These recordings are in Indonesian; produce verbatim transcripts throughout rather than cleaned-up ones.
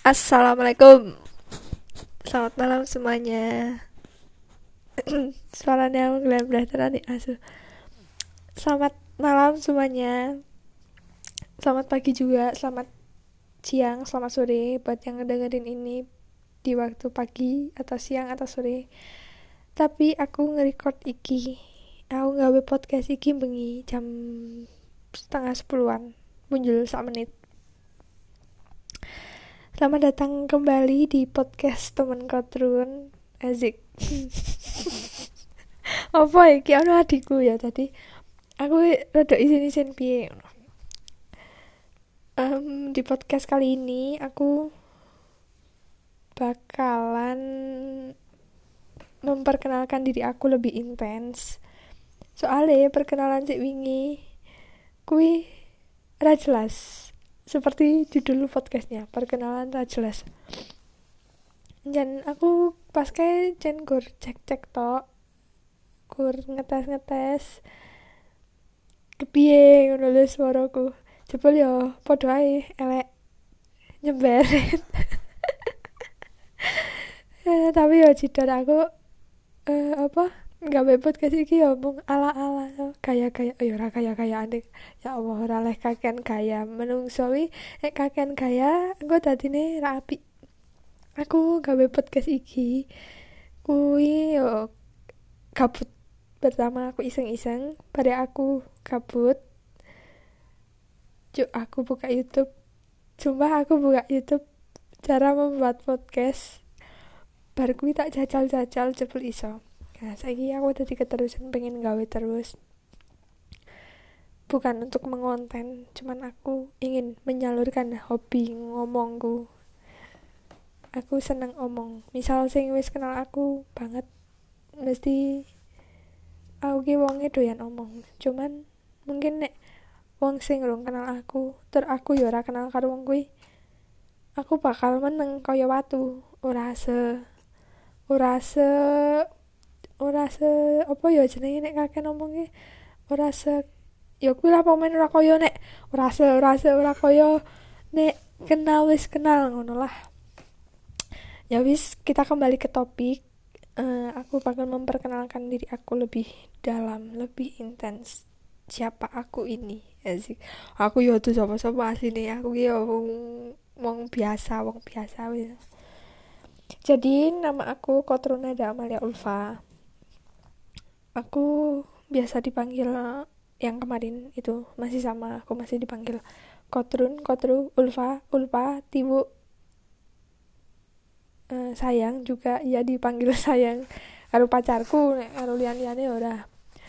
Assalamualaikum. Selamat malam semuanya. Suaranya berat-berat nih asu. Selamat malam semuanya. Selamat pagi juga, selamat siang, selamat sore buat yang ngedengerin ini di waktu pagi atau siang atau sore. Tapi aku nge-record iki. Aku gawe podcast iki bengi jam setengah sepuluhan. Muncul sak menit. Selamat datang kembali di podcast temen Kotrun. Azik. Apa iki ono adikku ya tadi. Aku rada isin-isin piye. Um, di podcast kali ini aku bakalan memperkenalkan diri aku lebih intens. Soalnya perkenalan cek wingi kui ra jelas. Seperti judul podcastnya, perkenalan ra jelas. Dan aku pas kayak jen gur cek-cek tok, gur ngetes-ngetes kepiye ngono lho suaraku. Jebul yo padha ae elek nyemberet. eh, tapi yo jidar aku eh, apa gawe podcast iki yo mung ala-ala gaya-gaya yo ora gaya-gaya aneh. Ya Allah ora leh kakean gaya menungso wi nek kakean gaya engko dadine ra apik. Aku gawe podcast iki kuwi yo gabut. Pertama aku iseng-iseng, pada aku gabut cuk aku buka YouTube. Sumpah aku buka YouTube cara membuat podcast, bar kuwi tak jajal-jajal jebul iso. Nah saiki aku dadi keterusan pengen gawe terus, bukan untuk mengonten, cuman aku ingin menyalurkan hobi ngomongku. Aku seneng omong, misal sing wis kenal aku banget mesti aku ki wonge doyan omong. Cuman mungkin nek wong sing urung kenal aku tur aku ya ora kenal karo wong kuwi, aku bakal meneng kaya watu, ora se ora se ora se apa ya jenenge nek kakek ngomongnya ora se ya kuwi lah pemain ora kaya nek ora se ora se ora kaya nek kenal wis kenal ngono lah. Ya wis, kita kembali ke topik. Uh, aku bakal memperkenalkan diri aku lebih dalam, lebih intens. Siapa aku ini? Asik. Aku yo tuh sapa-sapa asline. Aku ki yo wong wong biasa, wong biasa wis. Jadi nama aku Kotrunada Amalia Ulfa. Aku biasa dipanggil yang kemarin itu masih sama, aku masih dipanggil Kotrun, Kotru, Ulfa, Ulfa, Tibu, uh, sayang juga ya dipanggil sayang karo pacarku, nek karo liyan-liyane ora.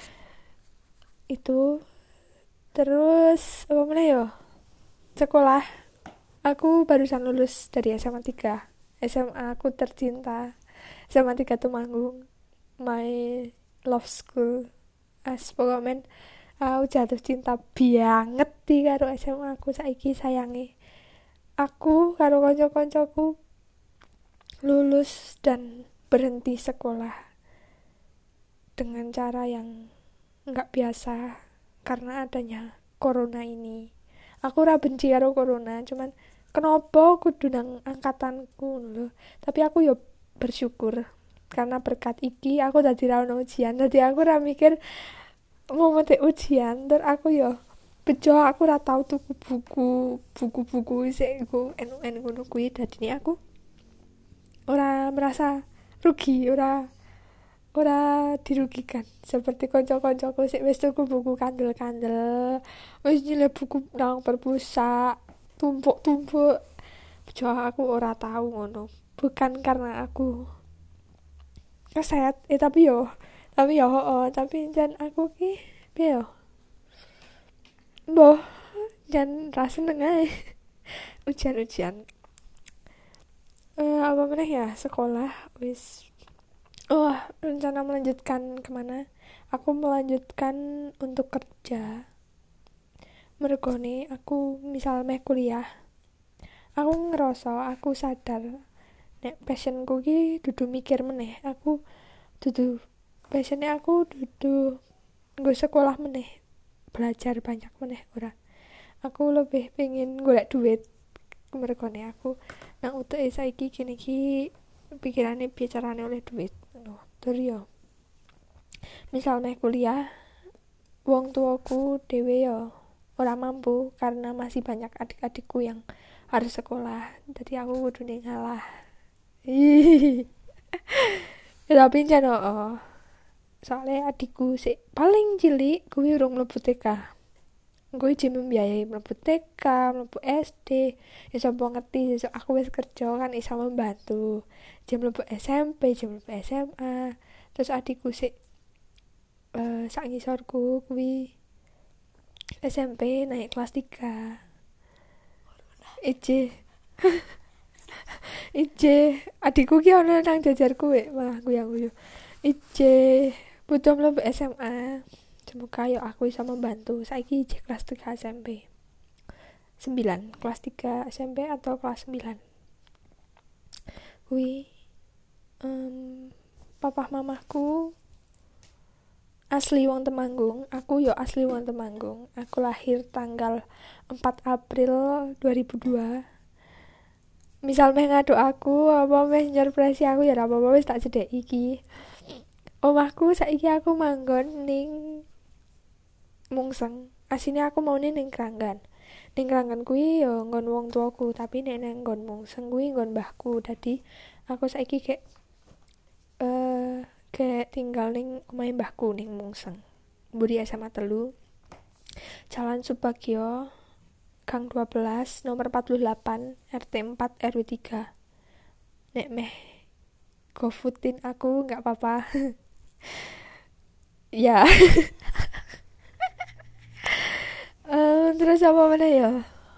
Itu terus apa meneh yo? Sekolah. Aku barusan lulus dari S M A tiga. S M A aku tercinta. S M A tiga Temanggung. My love school. As pokoknya aku jatuh cinta banget di karo S M A aku saiki sayangi. Aku karo kanca-kancaku lulus dan berhenti sekolah dengan cara yang nggak biasa karena adanya corona ini. Aku ora benci karo corona, cuman kenapa kudu nang angkatanku lho. Tapi aku yo bersyukur karena berkat iki aku dadi ra ono ujian. Dadi aku ora mikir mau metik ujian, ter aku yo bejo aku ora tau tuku buku, buku-buku sik iku enu-enu ngono kuwi, dadine aku ora merasa rugi, ora ora dirugikan seperti kanca-kancaku sik wis tuku buku kandel-kandel, wis nyilih buku nang perpusak tumpuk-tumpuk. Bejo aku ora tahu ngono, bukan karena aku keset eh tapi yo tapi yo oh, tapi jan aku ki piye yo mbah jan ra seneng ae ujian-ujian. Eh apa meneh ya, sekolah wis. Oh, rencana melanjutkan kemana? Aku melanjutkan untuk kerja. Mergone aku misal meh kuliah. Aku ngerasa, aku sadar nek passionku ki dudu mikir meneh. Aku dudu passionnya aku dudu nggo sekolah meneh, belajar banyak meneh ora. Aku lebih pengen golek duit. Mergone aku nang utuke saiki kene iki pikirane bicarane oleh duit ngono. Tur yo misal meh kuliah, wong tuaku dhewe yo ora mampu karena masih banyak adik-adikku yang harus sekolah, jadi aku kudune ngalah. Ya tapi jan oh, soalnya adikku sik paling cilik kuwi urung mlebu T K. Gue jadi membiayai mlebu T K, mlebu S D. Ya sapa ngerti sesuk aku wis kerja kan iso membantu. Jam mlebu S M P, jam mlebu S M A. Terus adikku sik uh, sak ngisorku kuwi S M P naik kelas tiga. Ije Ije adikku ki ono nang jajarku wek malah guyu-guyu. Ije butuh mlebu S M A. Semoga yo aku bisa membantu. Saiki ije kelas tiga S M P. sembilan kelas tiga S M P atau kelas sembilan. Kuwi um, papa mamaku asli wong Temanggung, aku yo asli wong Temanggung. Aku lahir tanggal empat April dua ribu dua. Misal meh ngaduk aku apa meh nyurpresi aku ya ora apa-apa wis tak cedhek iki. Omahku saiki aku manggon ning Mungseng. Asine aku maune ning Kranggan. Ning Kranggan kuwi yo nggon wong tuaku, tapi nek nang nggon Mungseng kuwi nggon mbahku. Dadi aku saiki kayak eh uh, kayak tinggal ning omahe mbahku ning Mungseng. Mburi S M A telu. Jalan Subagio Gang dua belas nomor empat puluh delapan R T empat R W tiga. Nek meh gofoodin aku enggak apa-apa. Ya. um, terus apa mana ya?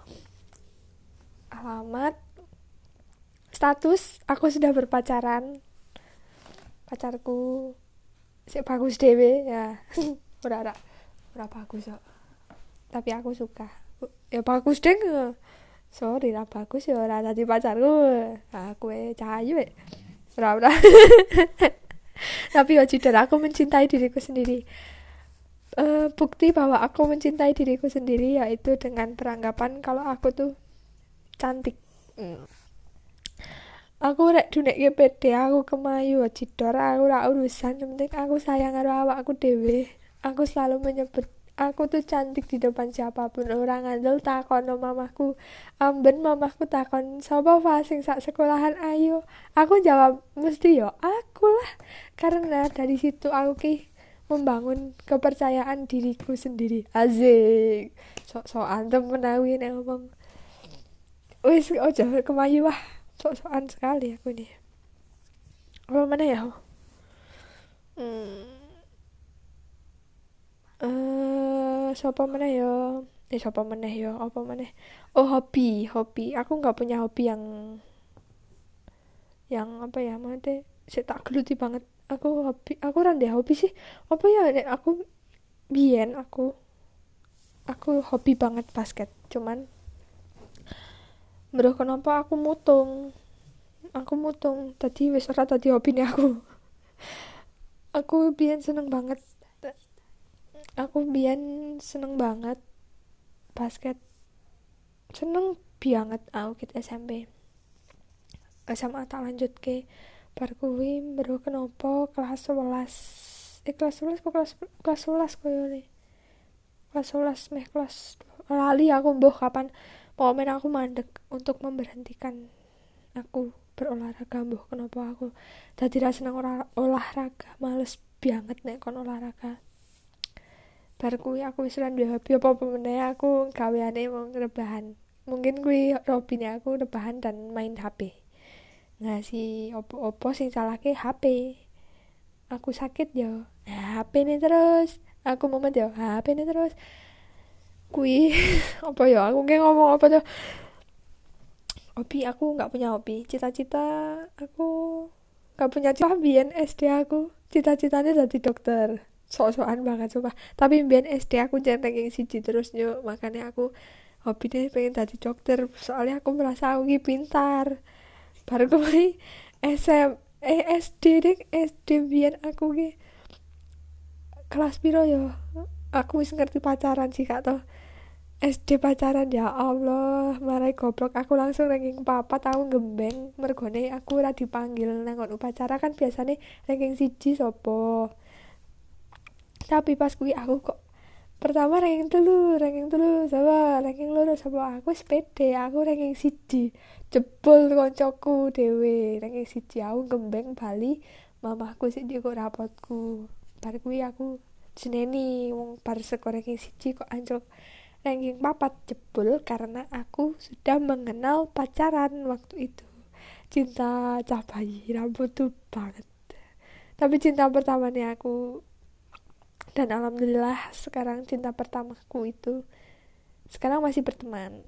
Alamat, status aku sudah berpacaran. Pacarku sik bagus dhewe ya. ora ora ora bagus kok. Tapi aku suka. Ya bagus deng. Sorry lah bagus ya ora dadi pacarku. Aku e cahayu e. Ora ora. Tapi ya jujur aku mencintai diriku sendiri. Uh, bukti bahwa aku mencintai diriku sendiri yaitu dengan beranggapan kalau aku tuh cantik. Hmm. Aku rek dunekke pede, aku kemayu cidor, aku ora urusan, yang penting aku sayang karo awakku dhewe. Aku selalu menyebut aku tuh cantik di depan siapapun. Orang ngandel takon mamahku, amben mamahku takon sapa wae sing sak sekolahan ayu. Aku jawab mesti yo aku lah. Karena dari situ aku ki membangun kepercayaan diriku sendiri. Asik. Sok-sokan temen aku nek ngomong. Wis ojo kemayu wah. Sok-sokan sekali aku ini. Apa mana ya? Hmm. Uh, siapa mana ya? Eh siapa mana ya? Apa mana? Oh hobi, hobi. Aku nggak punya hobi yang yang apa ya? Maksudnya saya tak geluti banget. Aku hobi, aku rendah hobi sih. Apa ya? Aku biyen aku aku hobi banget basket. Cuman Bro, kenapa aku mutung? Aku mutung. Tadi wis ora tadi hobine aku. Aku biyen seneng banget. Aku biyen seneng banget basket. Seneng banget aku ket S M P. S M A tak lanjut ke bar kuwi bro kenapa kelas sebelas. Eh kelas sebelas kok kelas kelas sebelas koyo ne. Kelas sebelas meh kelas lali aku mbuh kapan momen aku mandek untuk memberhentikan aku berolahraga. Mbuh kenapa aku dadi ra seneng olah, olahraga, males banget nek kon olahraga. Bar kuwi aku wis ora duwe hobi apa-apa meneh, aku gaweane wong rebahan. Mungkin kuwi hobine aku rebahan dan main H P. Ngasih opo-opo sing salahke H P. Aku sakit yo, H P ne terus. Aku mumet yo, H P ne terus. Kui apa ya aku kayak ngomong apa tuh hobi aku nggak punya hobi, cita-cita aku nggak punya cita. Biyen S D aku cita-citanya jadi dokter, sok-sokan banget coba. Tapi biyen S D aku centeng yang siji terus yo, makanya aku hobinya pengen jadi dokter soalnya aku merasa aku ki pintar. Baru kemarin S M eh S D deh S D biyen aku ki kelas piro yo aku wis ngerti pacaran sih kak toh. S D pacaran ya Allah, marai goblok aku langsung ranking papat aku gembeng mergone aku ora dipanggil nang upacara kan biasanya ranking siji sopo. Tapi pas kuwi aku kok pertama ranking telu, ranking telu sama ranking loro sama aku sepede, aku ranking siji. Jebol koncoku dhewe ranking siji aku gembeng bali, mamaku sik ndek rapotku. Bar kuwi aku jeneni wong bar skor ranking siji kok anjlok ranking papat jebol karena aku sudah mengenal pacaran waktu itu. Cinta cah bayi rambut tuh banget. Tapi cinta pertamanya aku, dan alhamdulillah sekarang cinta pertamaku itu sekarang masih berteman.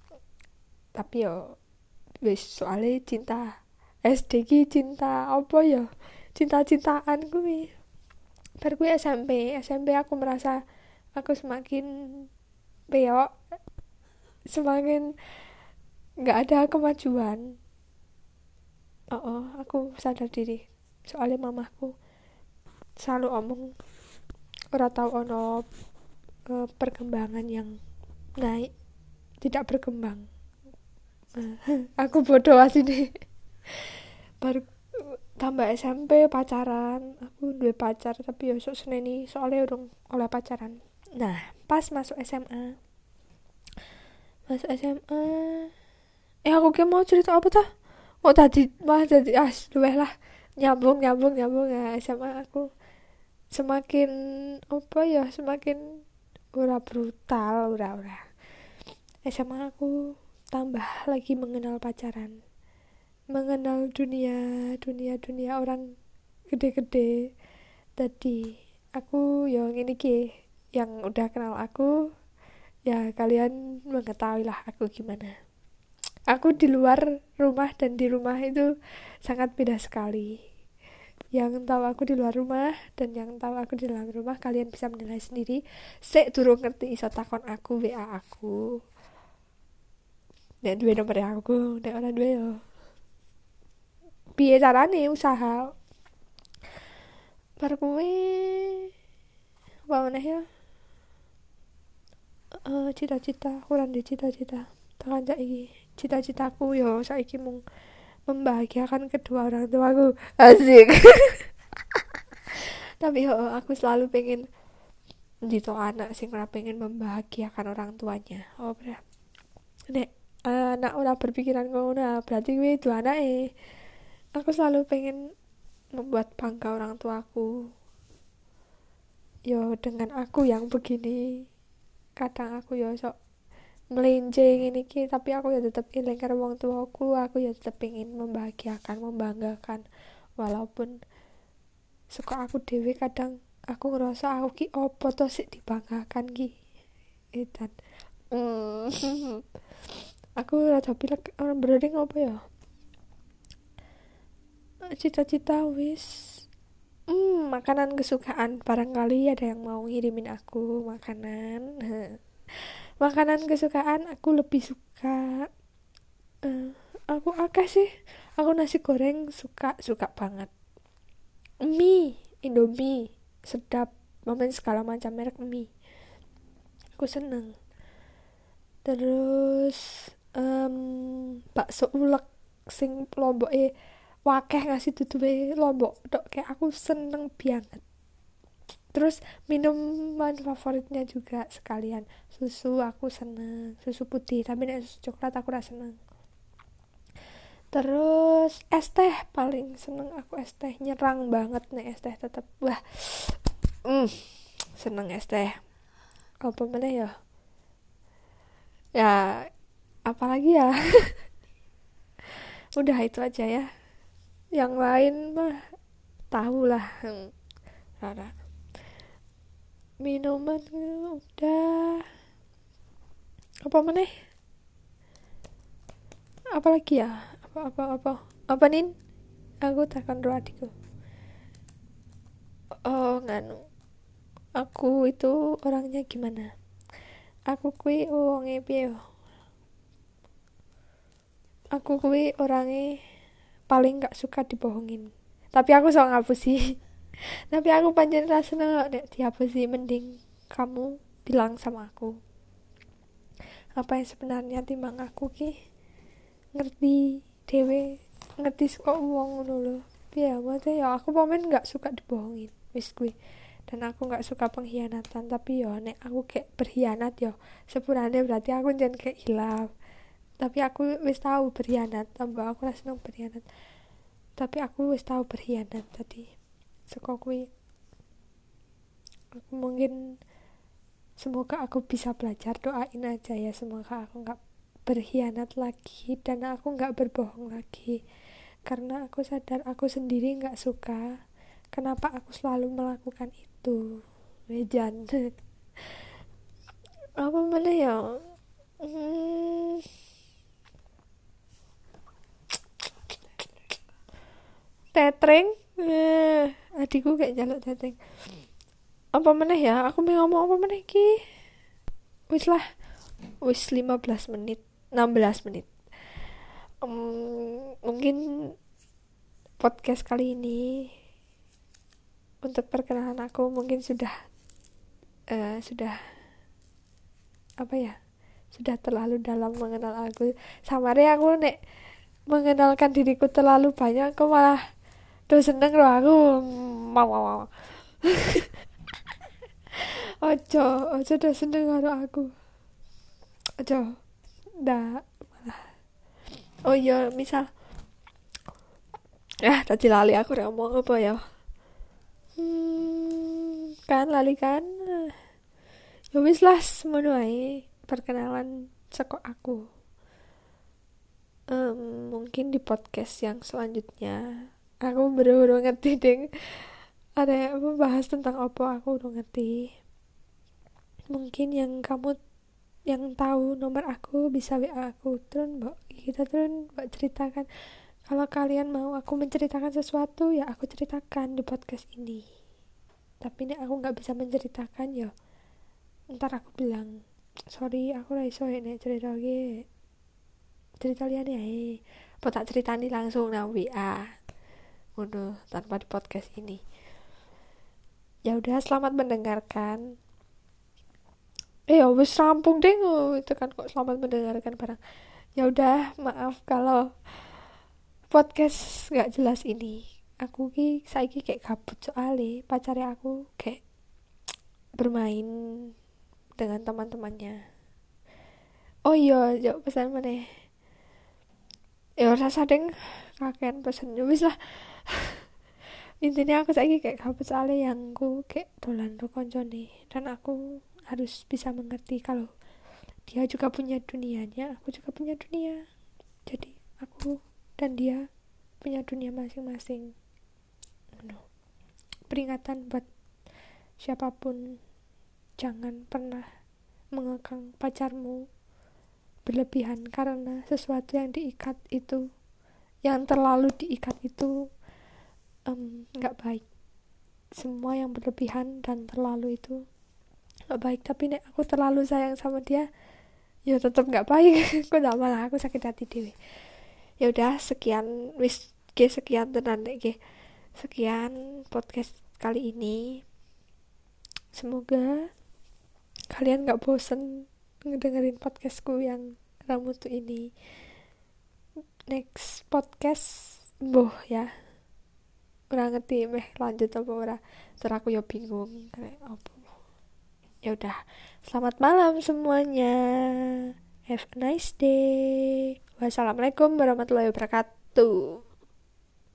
Tapi yo wis soalnya cinta S D ki cinta apa ya? Cinta-cintaan kuwi. Bar kuwi S M P, S M P aku merasa aku semakin peok, semakin nggak ada kemajuan. Oh, oh, aku sadar diri. Soalnya mamaku selalu omong ora tahu ono uh, perkembangan yang naik, tidak berkembang. Uh, aku bodoh asine. Baru tambah S M P pacaran, aku duwe pacar tapi yo sok seneni soalnya urung oleh pacaran. Nah, pas masuk S M A. Masuk S M A. Eh aku ki mau cerita apa tuh? Oh tadi mah jadi ah luweh lah nyambung nyambung nyambung ya S M A aku semakin apa ya semakin ora brutal ora ora S M A aku tambah lagi mengenal pacaran, mengenal dunia dunia dunia orang gede-gede. Tadi aku yang ini ki yang udah kenal aku ya kalian mengetahui lah aku gimana. Aku di luar rumah dan di rumah itu sangat beda sekali. Yang tahu aku di luar rumah dan yang tahu aku di dalam rumah kalian bisa menilai sendiri. Sek durung ngerti iso takon aku W A aku. Nek duwe nomor aku, nek ora duwe yo. Piye carane usaha? Bar kuwi apa meneh ya? Uh, cita-cita, kurang di cita-cita. Tekan saiki. Cita-citaku yo saiki mung membahagiakan kedua orang tuaku. Asik. Tapi yo aku selalu pengen dito anak sing ora pengen membahagiakan orang tuanya. Oh, ber. Nek anak ora berpikiran ngono berarti kuwi itu anake. Aku selalu pengen membuat bangga orang tuaku. Yo dengan aku yang begini. Kadang aku yo sok melenceng ini ki tapi aku ya tetap eling karo wong tuaku, aku ya tetap pengen membahagiakan, membanggakan walaupun suka aku dewe kadang aku ngerasa aku ki opo to sik dibanggakan ki edan. mm. Aku rada pilek orang branding apa ya cita-cita wis Hmm, makanan kesukaan barangkali ada yang mau ngirimin aku makanan. Makanan kesukaan aku lebih suka uh, aku akeh sih. Aku nasi goreng suka suka banget. Mie, Indomie, sedap. Momen segala macam merek mie. Aku seneng. Terus um, bakso ulek sing lomboke wakeh ngasih tutupe lombok tok kayak aku seneng banget. Terus minuman favoritnya juga sekalian susu, aku seneng susu putih tapi nek susu coklat aku rasa seneng. Terus es teh paling seneng aku, es teh nyerang banget nih es teh tetep wah mm, seneng es teh. Apa mana ya ya apalagi ya udah itu aja ya, yang lain mah tahu lah. hmm. Rara minuman udah apa mana apalagi ya apa apa apa apa nin aku takkan doa adikku. Oh nganu aku itu orangnya gimana, aku kui wonge piye yo, aku kui orangnya paling gak suka dibohongin tapi aku sok ngapusi. Tapi aku pancen rasanya nek dihapusi mending kamu bilang sama aku. apa yang sebenarnya timbang aku ki ngerti dhewe, ngerti kok wong ngono lho. Ya maksudnya ya aku pamen nggak suka dibohongin wis kuwi, dan aku nggak suka pengkhianatan. Tapi yo nek aku kayak berkhianat yo sepurane berarti aku jangan kayak hilaf. Tapi aku wis tahu berkhianat, tambah aku rasa seneng berkhianat, tapi aku wis tahu berkhianat tadi. Seko kuwi aku mungkin semoga aku bisa belajar, doain aja ya semoga aku nggak berkhianat lagi dan aku nggak berbohong lagi, karena aku sadar aku sendiri nggak suka kenapa aku selalu melakukan itu. Wejan apa mana ya, hmm, tetring, eh, adikku kayak jaluk tetring. Apa mana ya, aku mau ngomong apa mana ki, wis lah, wis lima belas menit, enam belas menit. Um, mungkin podcast kali ini untuk perkenalan aku mungkin sudah uh, sudah apa ya, sudah terlalu dalam mengenal aku. Samare aku nek mengenalkan diriku terlalu banyak, aku malah tuh seneng loh aku. Mau mau mau. Ojo, ojo tuh seneng karo aku. Ojo. Ndak malah. Oh iya, misal ah tadi lali aku udah ngomong apa ya. Hmm, kan lali kan. Ya wis lah semono ae perkenalan seko aku. Um, mungkin di podcast yang selanjutnya aku baru ngerti ding ada yang membahas tentang apa, aku udah ngerti. Mungkin yang kamu yang tahu nomor aku bisa W A aku, terus mbak kita terus mbak ceritakan. Kalau kalian mau aku menceritakan sesuatu ya aku ceritakan di podcast ini. Tapi nih aku nggak bisa menceritakan ya ntar aku bilang sorry aku ra iso nek cerita lagi, cerita liane ae apa tak ceritani langsung nang W A ngono tanpa di podcast ini. Ya udah, selamat mendengarkan. Eh ya wis rampung deh, oh, itu kan kok selamat mendengarkan barang. Ya udah, maaf kalau podcast nggak jelas ini. Aku ki saiki kayak gabut soalnya pacarnya aku kayak bermain dengan teman-temannya. Oh iya, yuk pesan mana? Ya rasa deng kakean pesen wis lah. Intinya aku saiki kayak gabut soalnya yang aku kayak dolan ro koncone dan aku harus bisa mengerti kalau dia juga punya dunianya, aku juga punya dunia. Jadi aku dan dia punya dunia masing-masing. No. Peringatan buat siapapun, jangan pernah mengekang pacarmu berlebihan, karena sesuatu yang diikat itu, yang terlalu diikat itu nggak um, baik. Semua yang berlebihan dan terlalu itu nggak baik. Tapi nek aku terlalu sayang sama dia ya tetap nggak baik. Aku nggak, malah aku sakit hati dewe. Ya udah, sekian wis ke sekian tenan nek sekian podcast kali ini. Semoga kalian nggak bosen ngedengerin podcastku yang ramutu ini. Next podcast boh ya ora ngerti meh lanjut apa ora, terus aku ya bingung kayak apa. Ya udah, selamat malam semuanya, have a nice day, wassalamualaikum warahmatullahi wabarakatuh.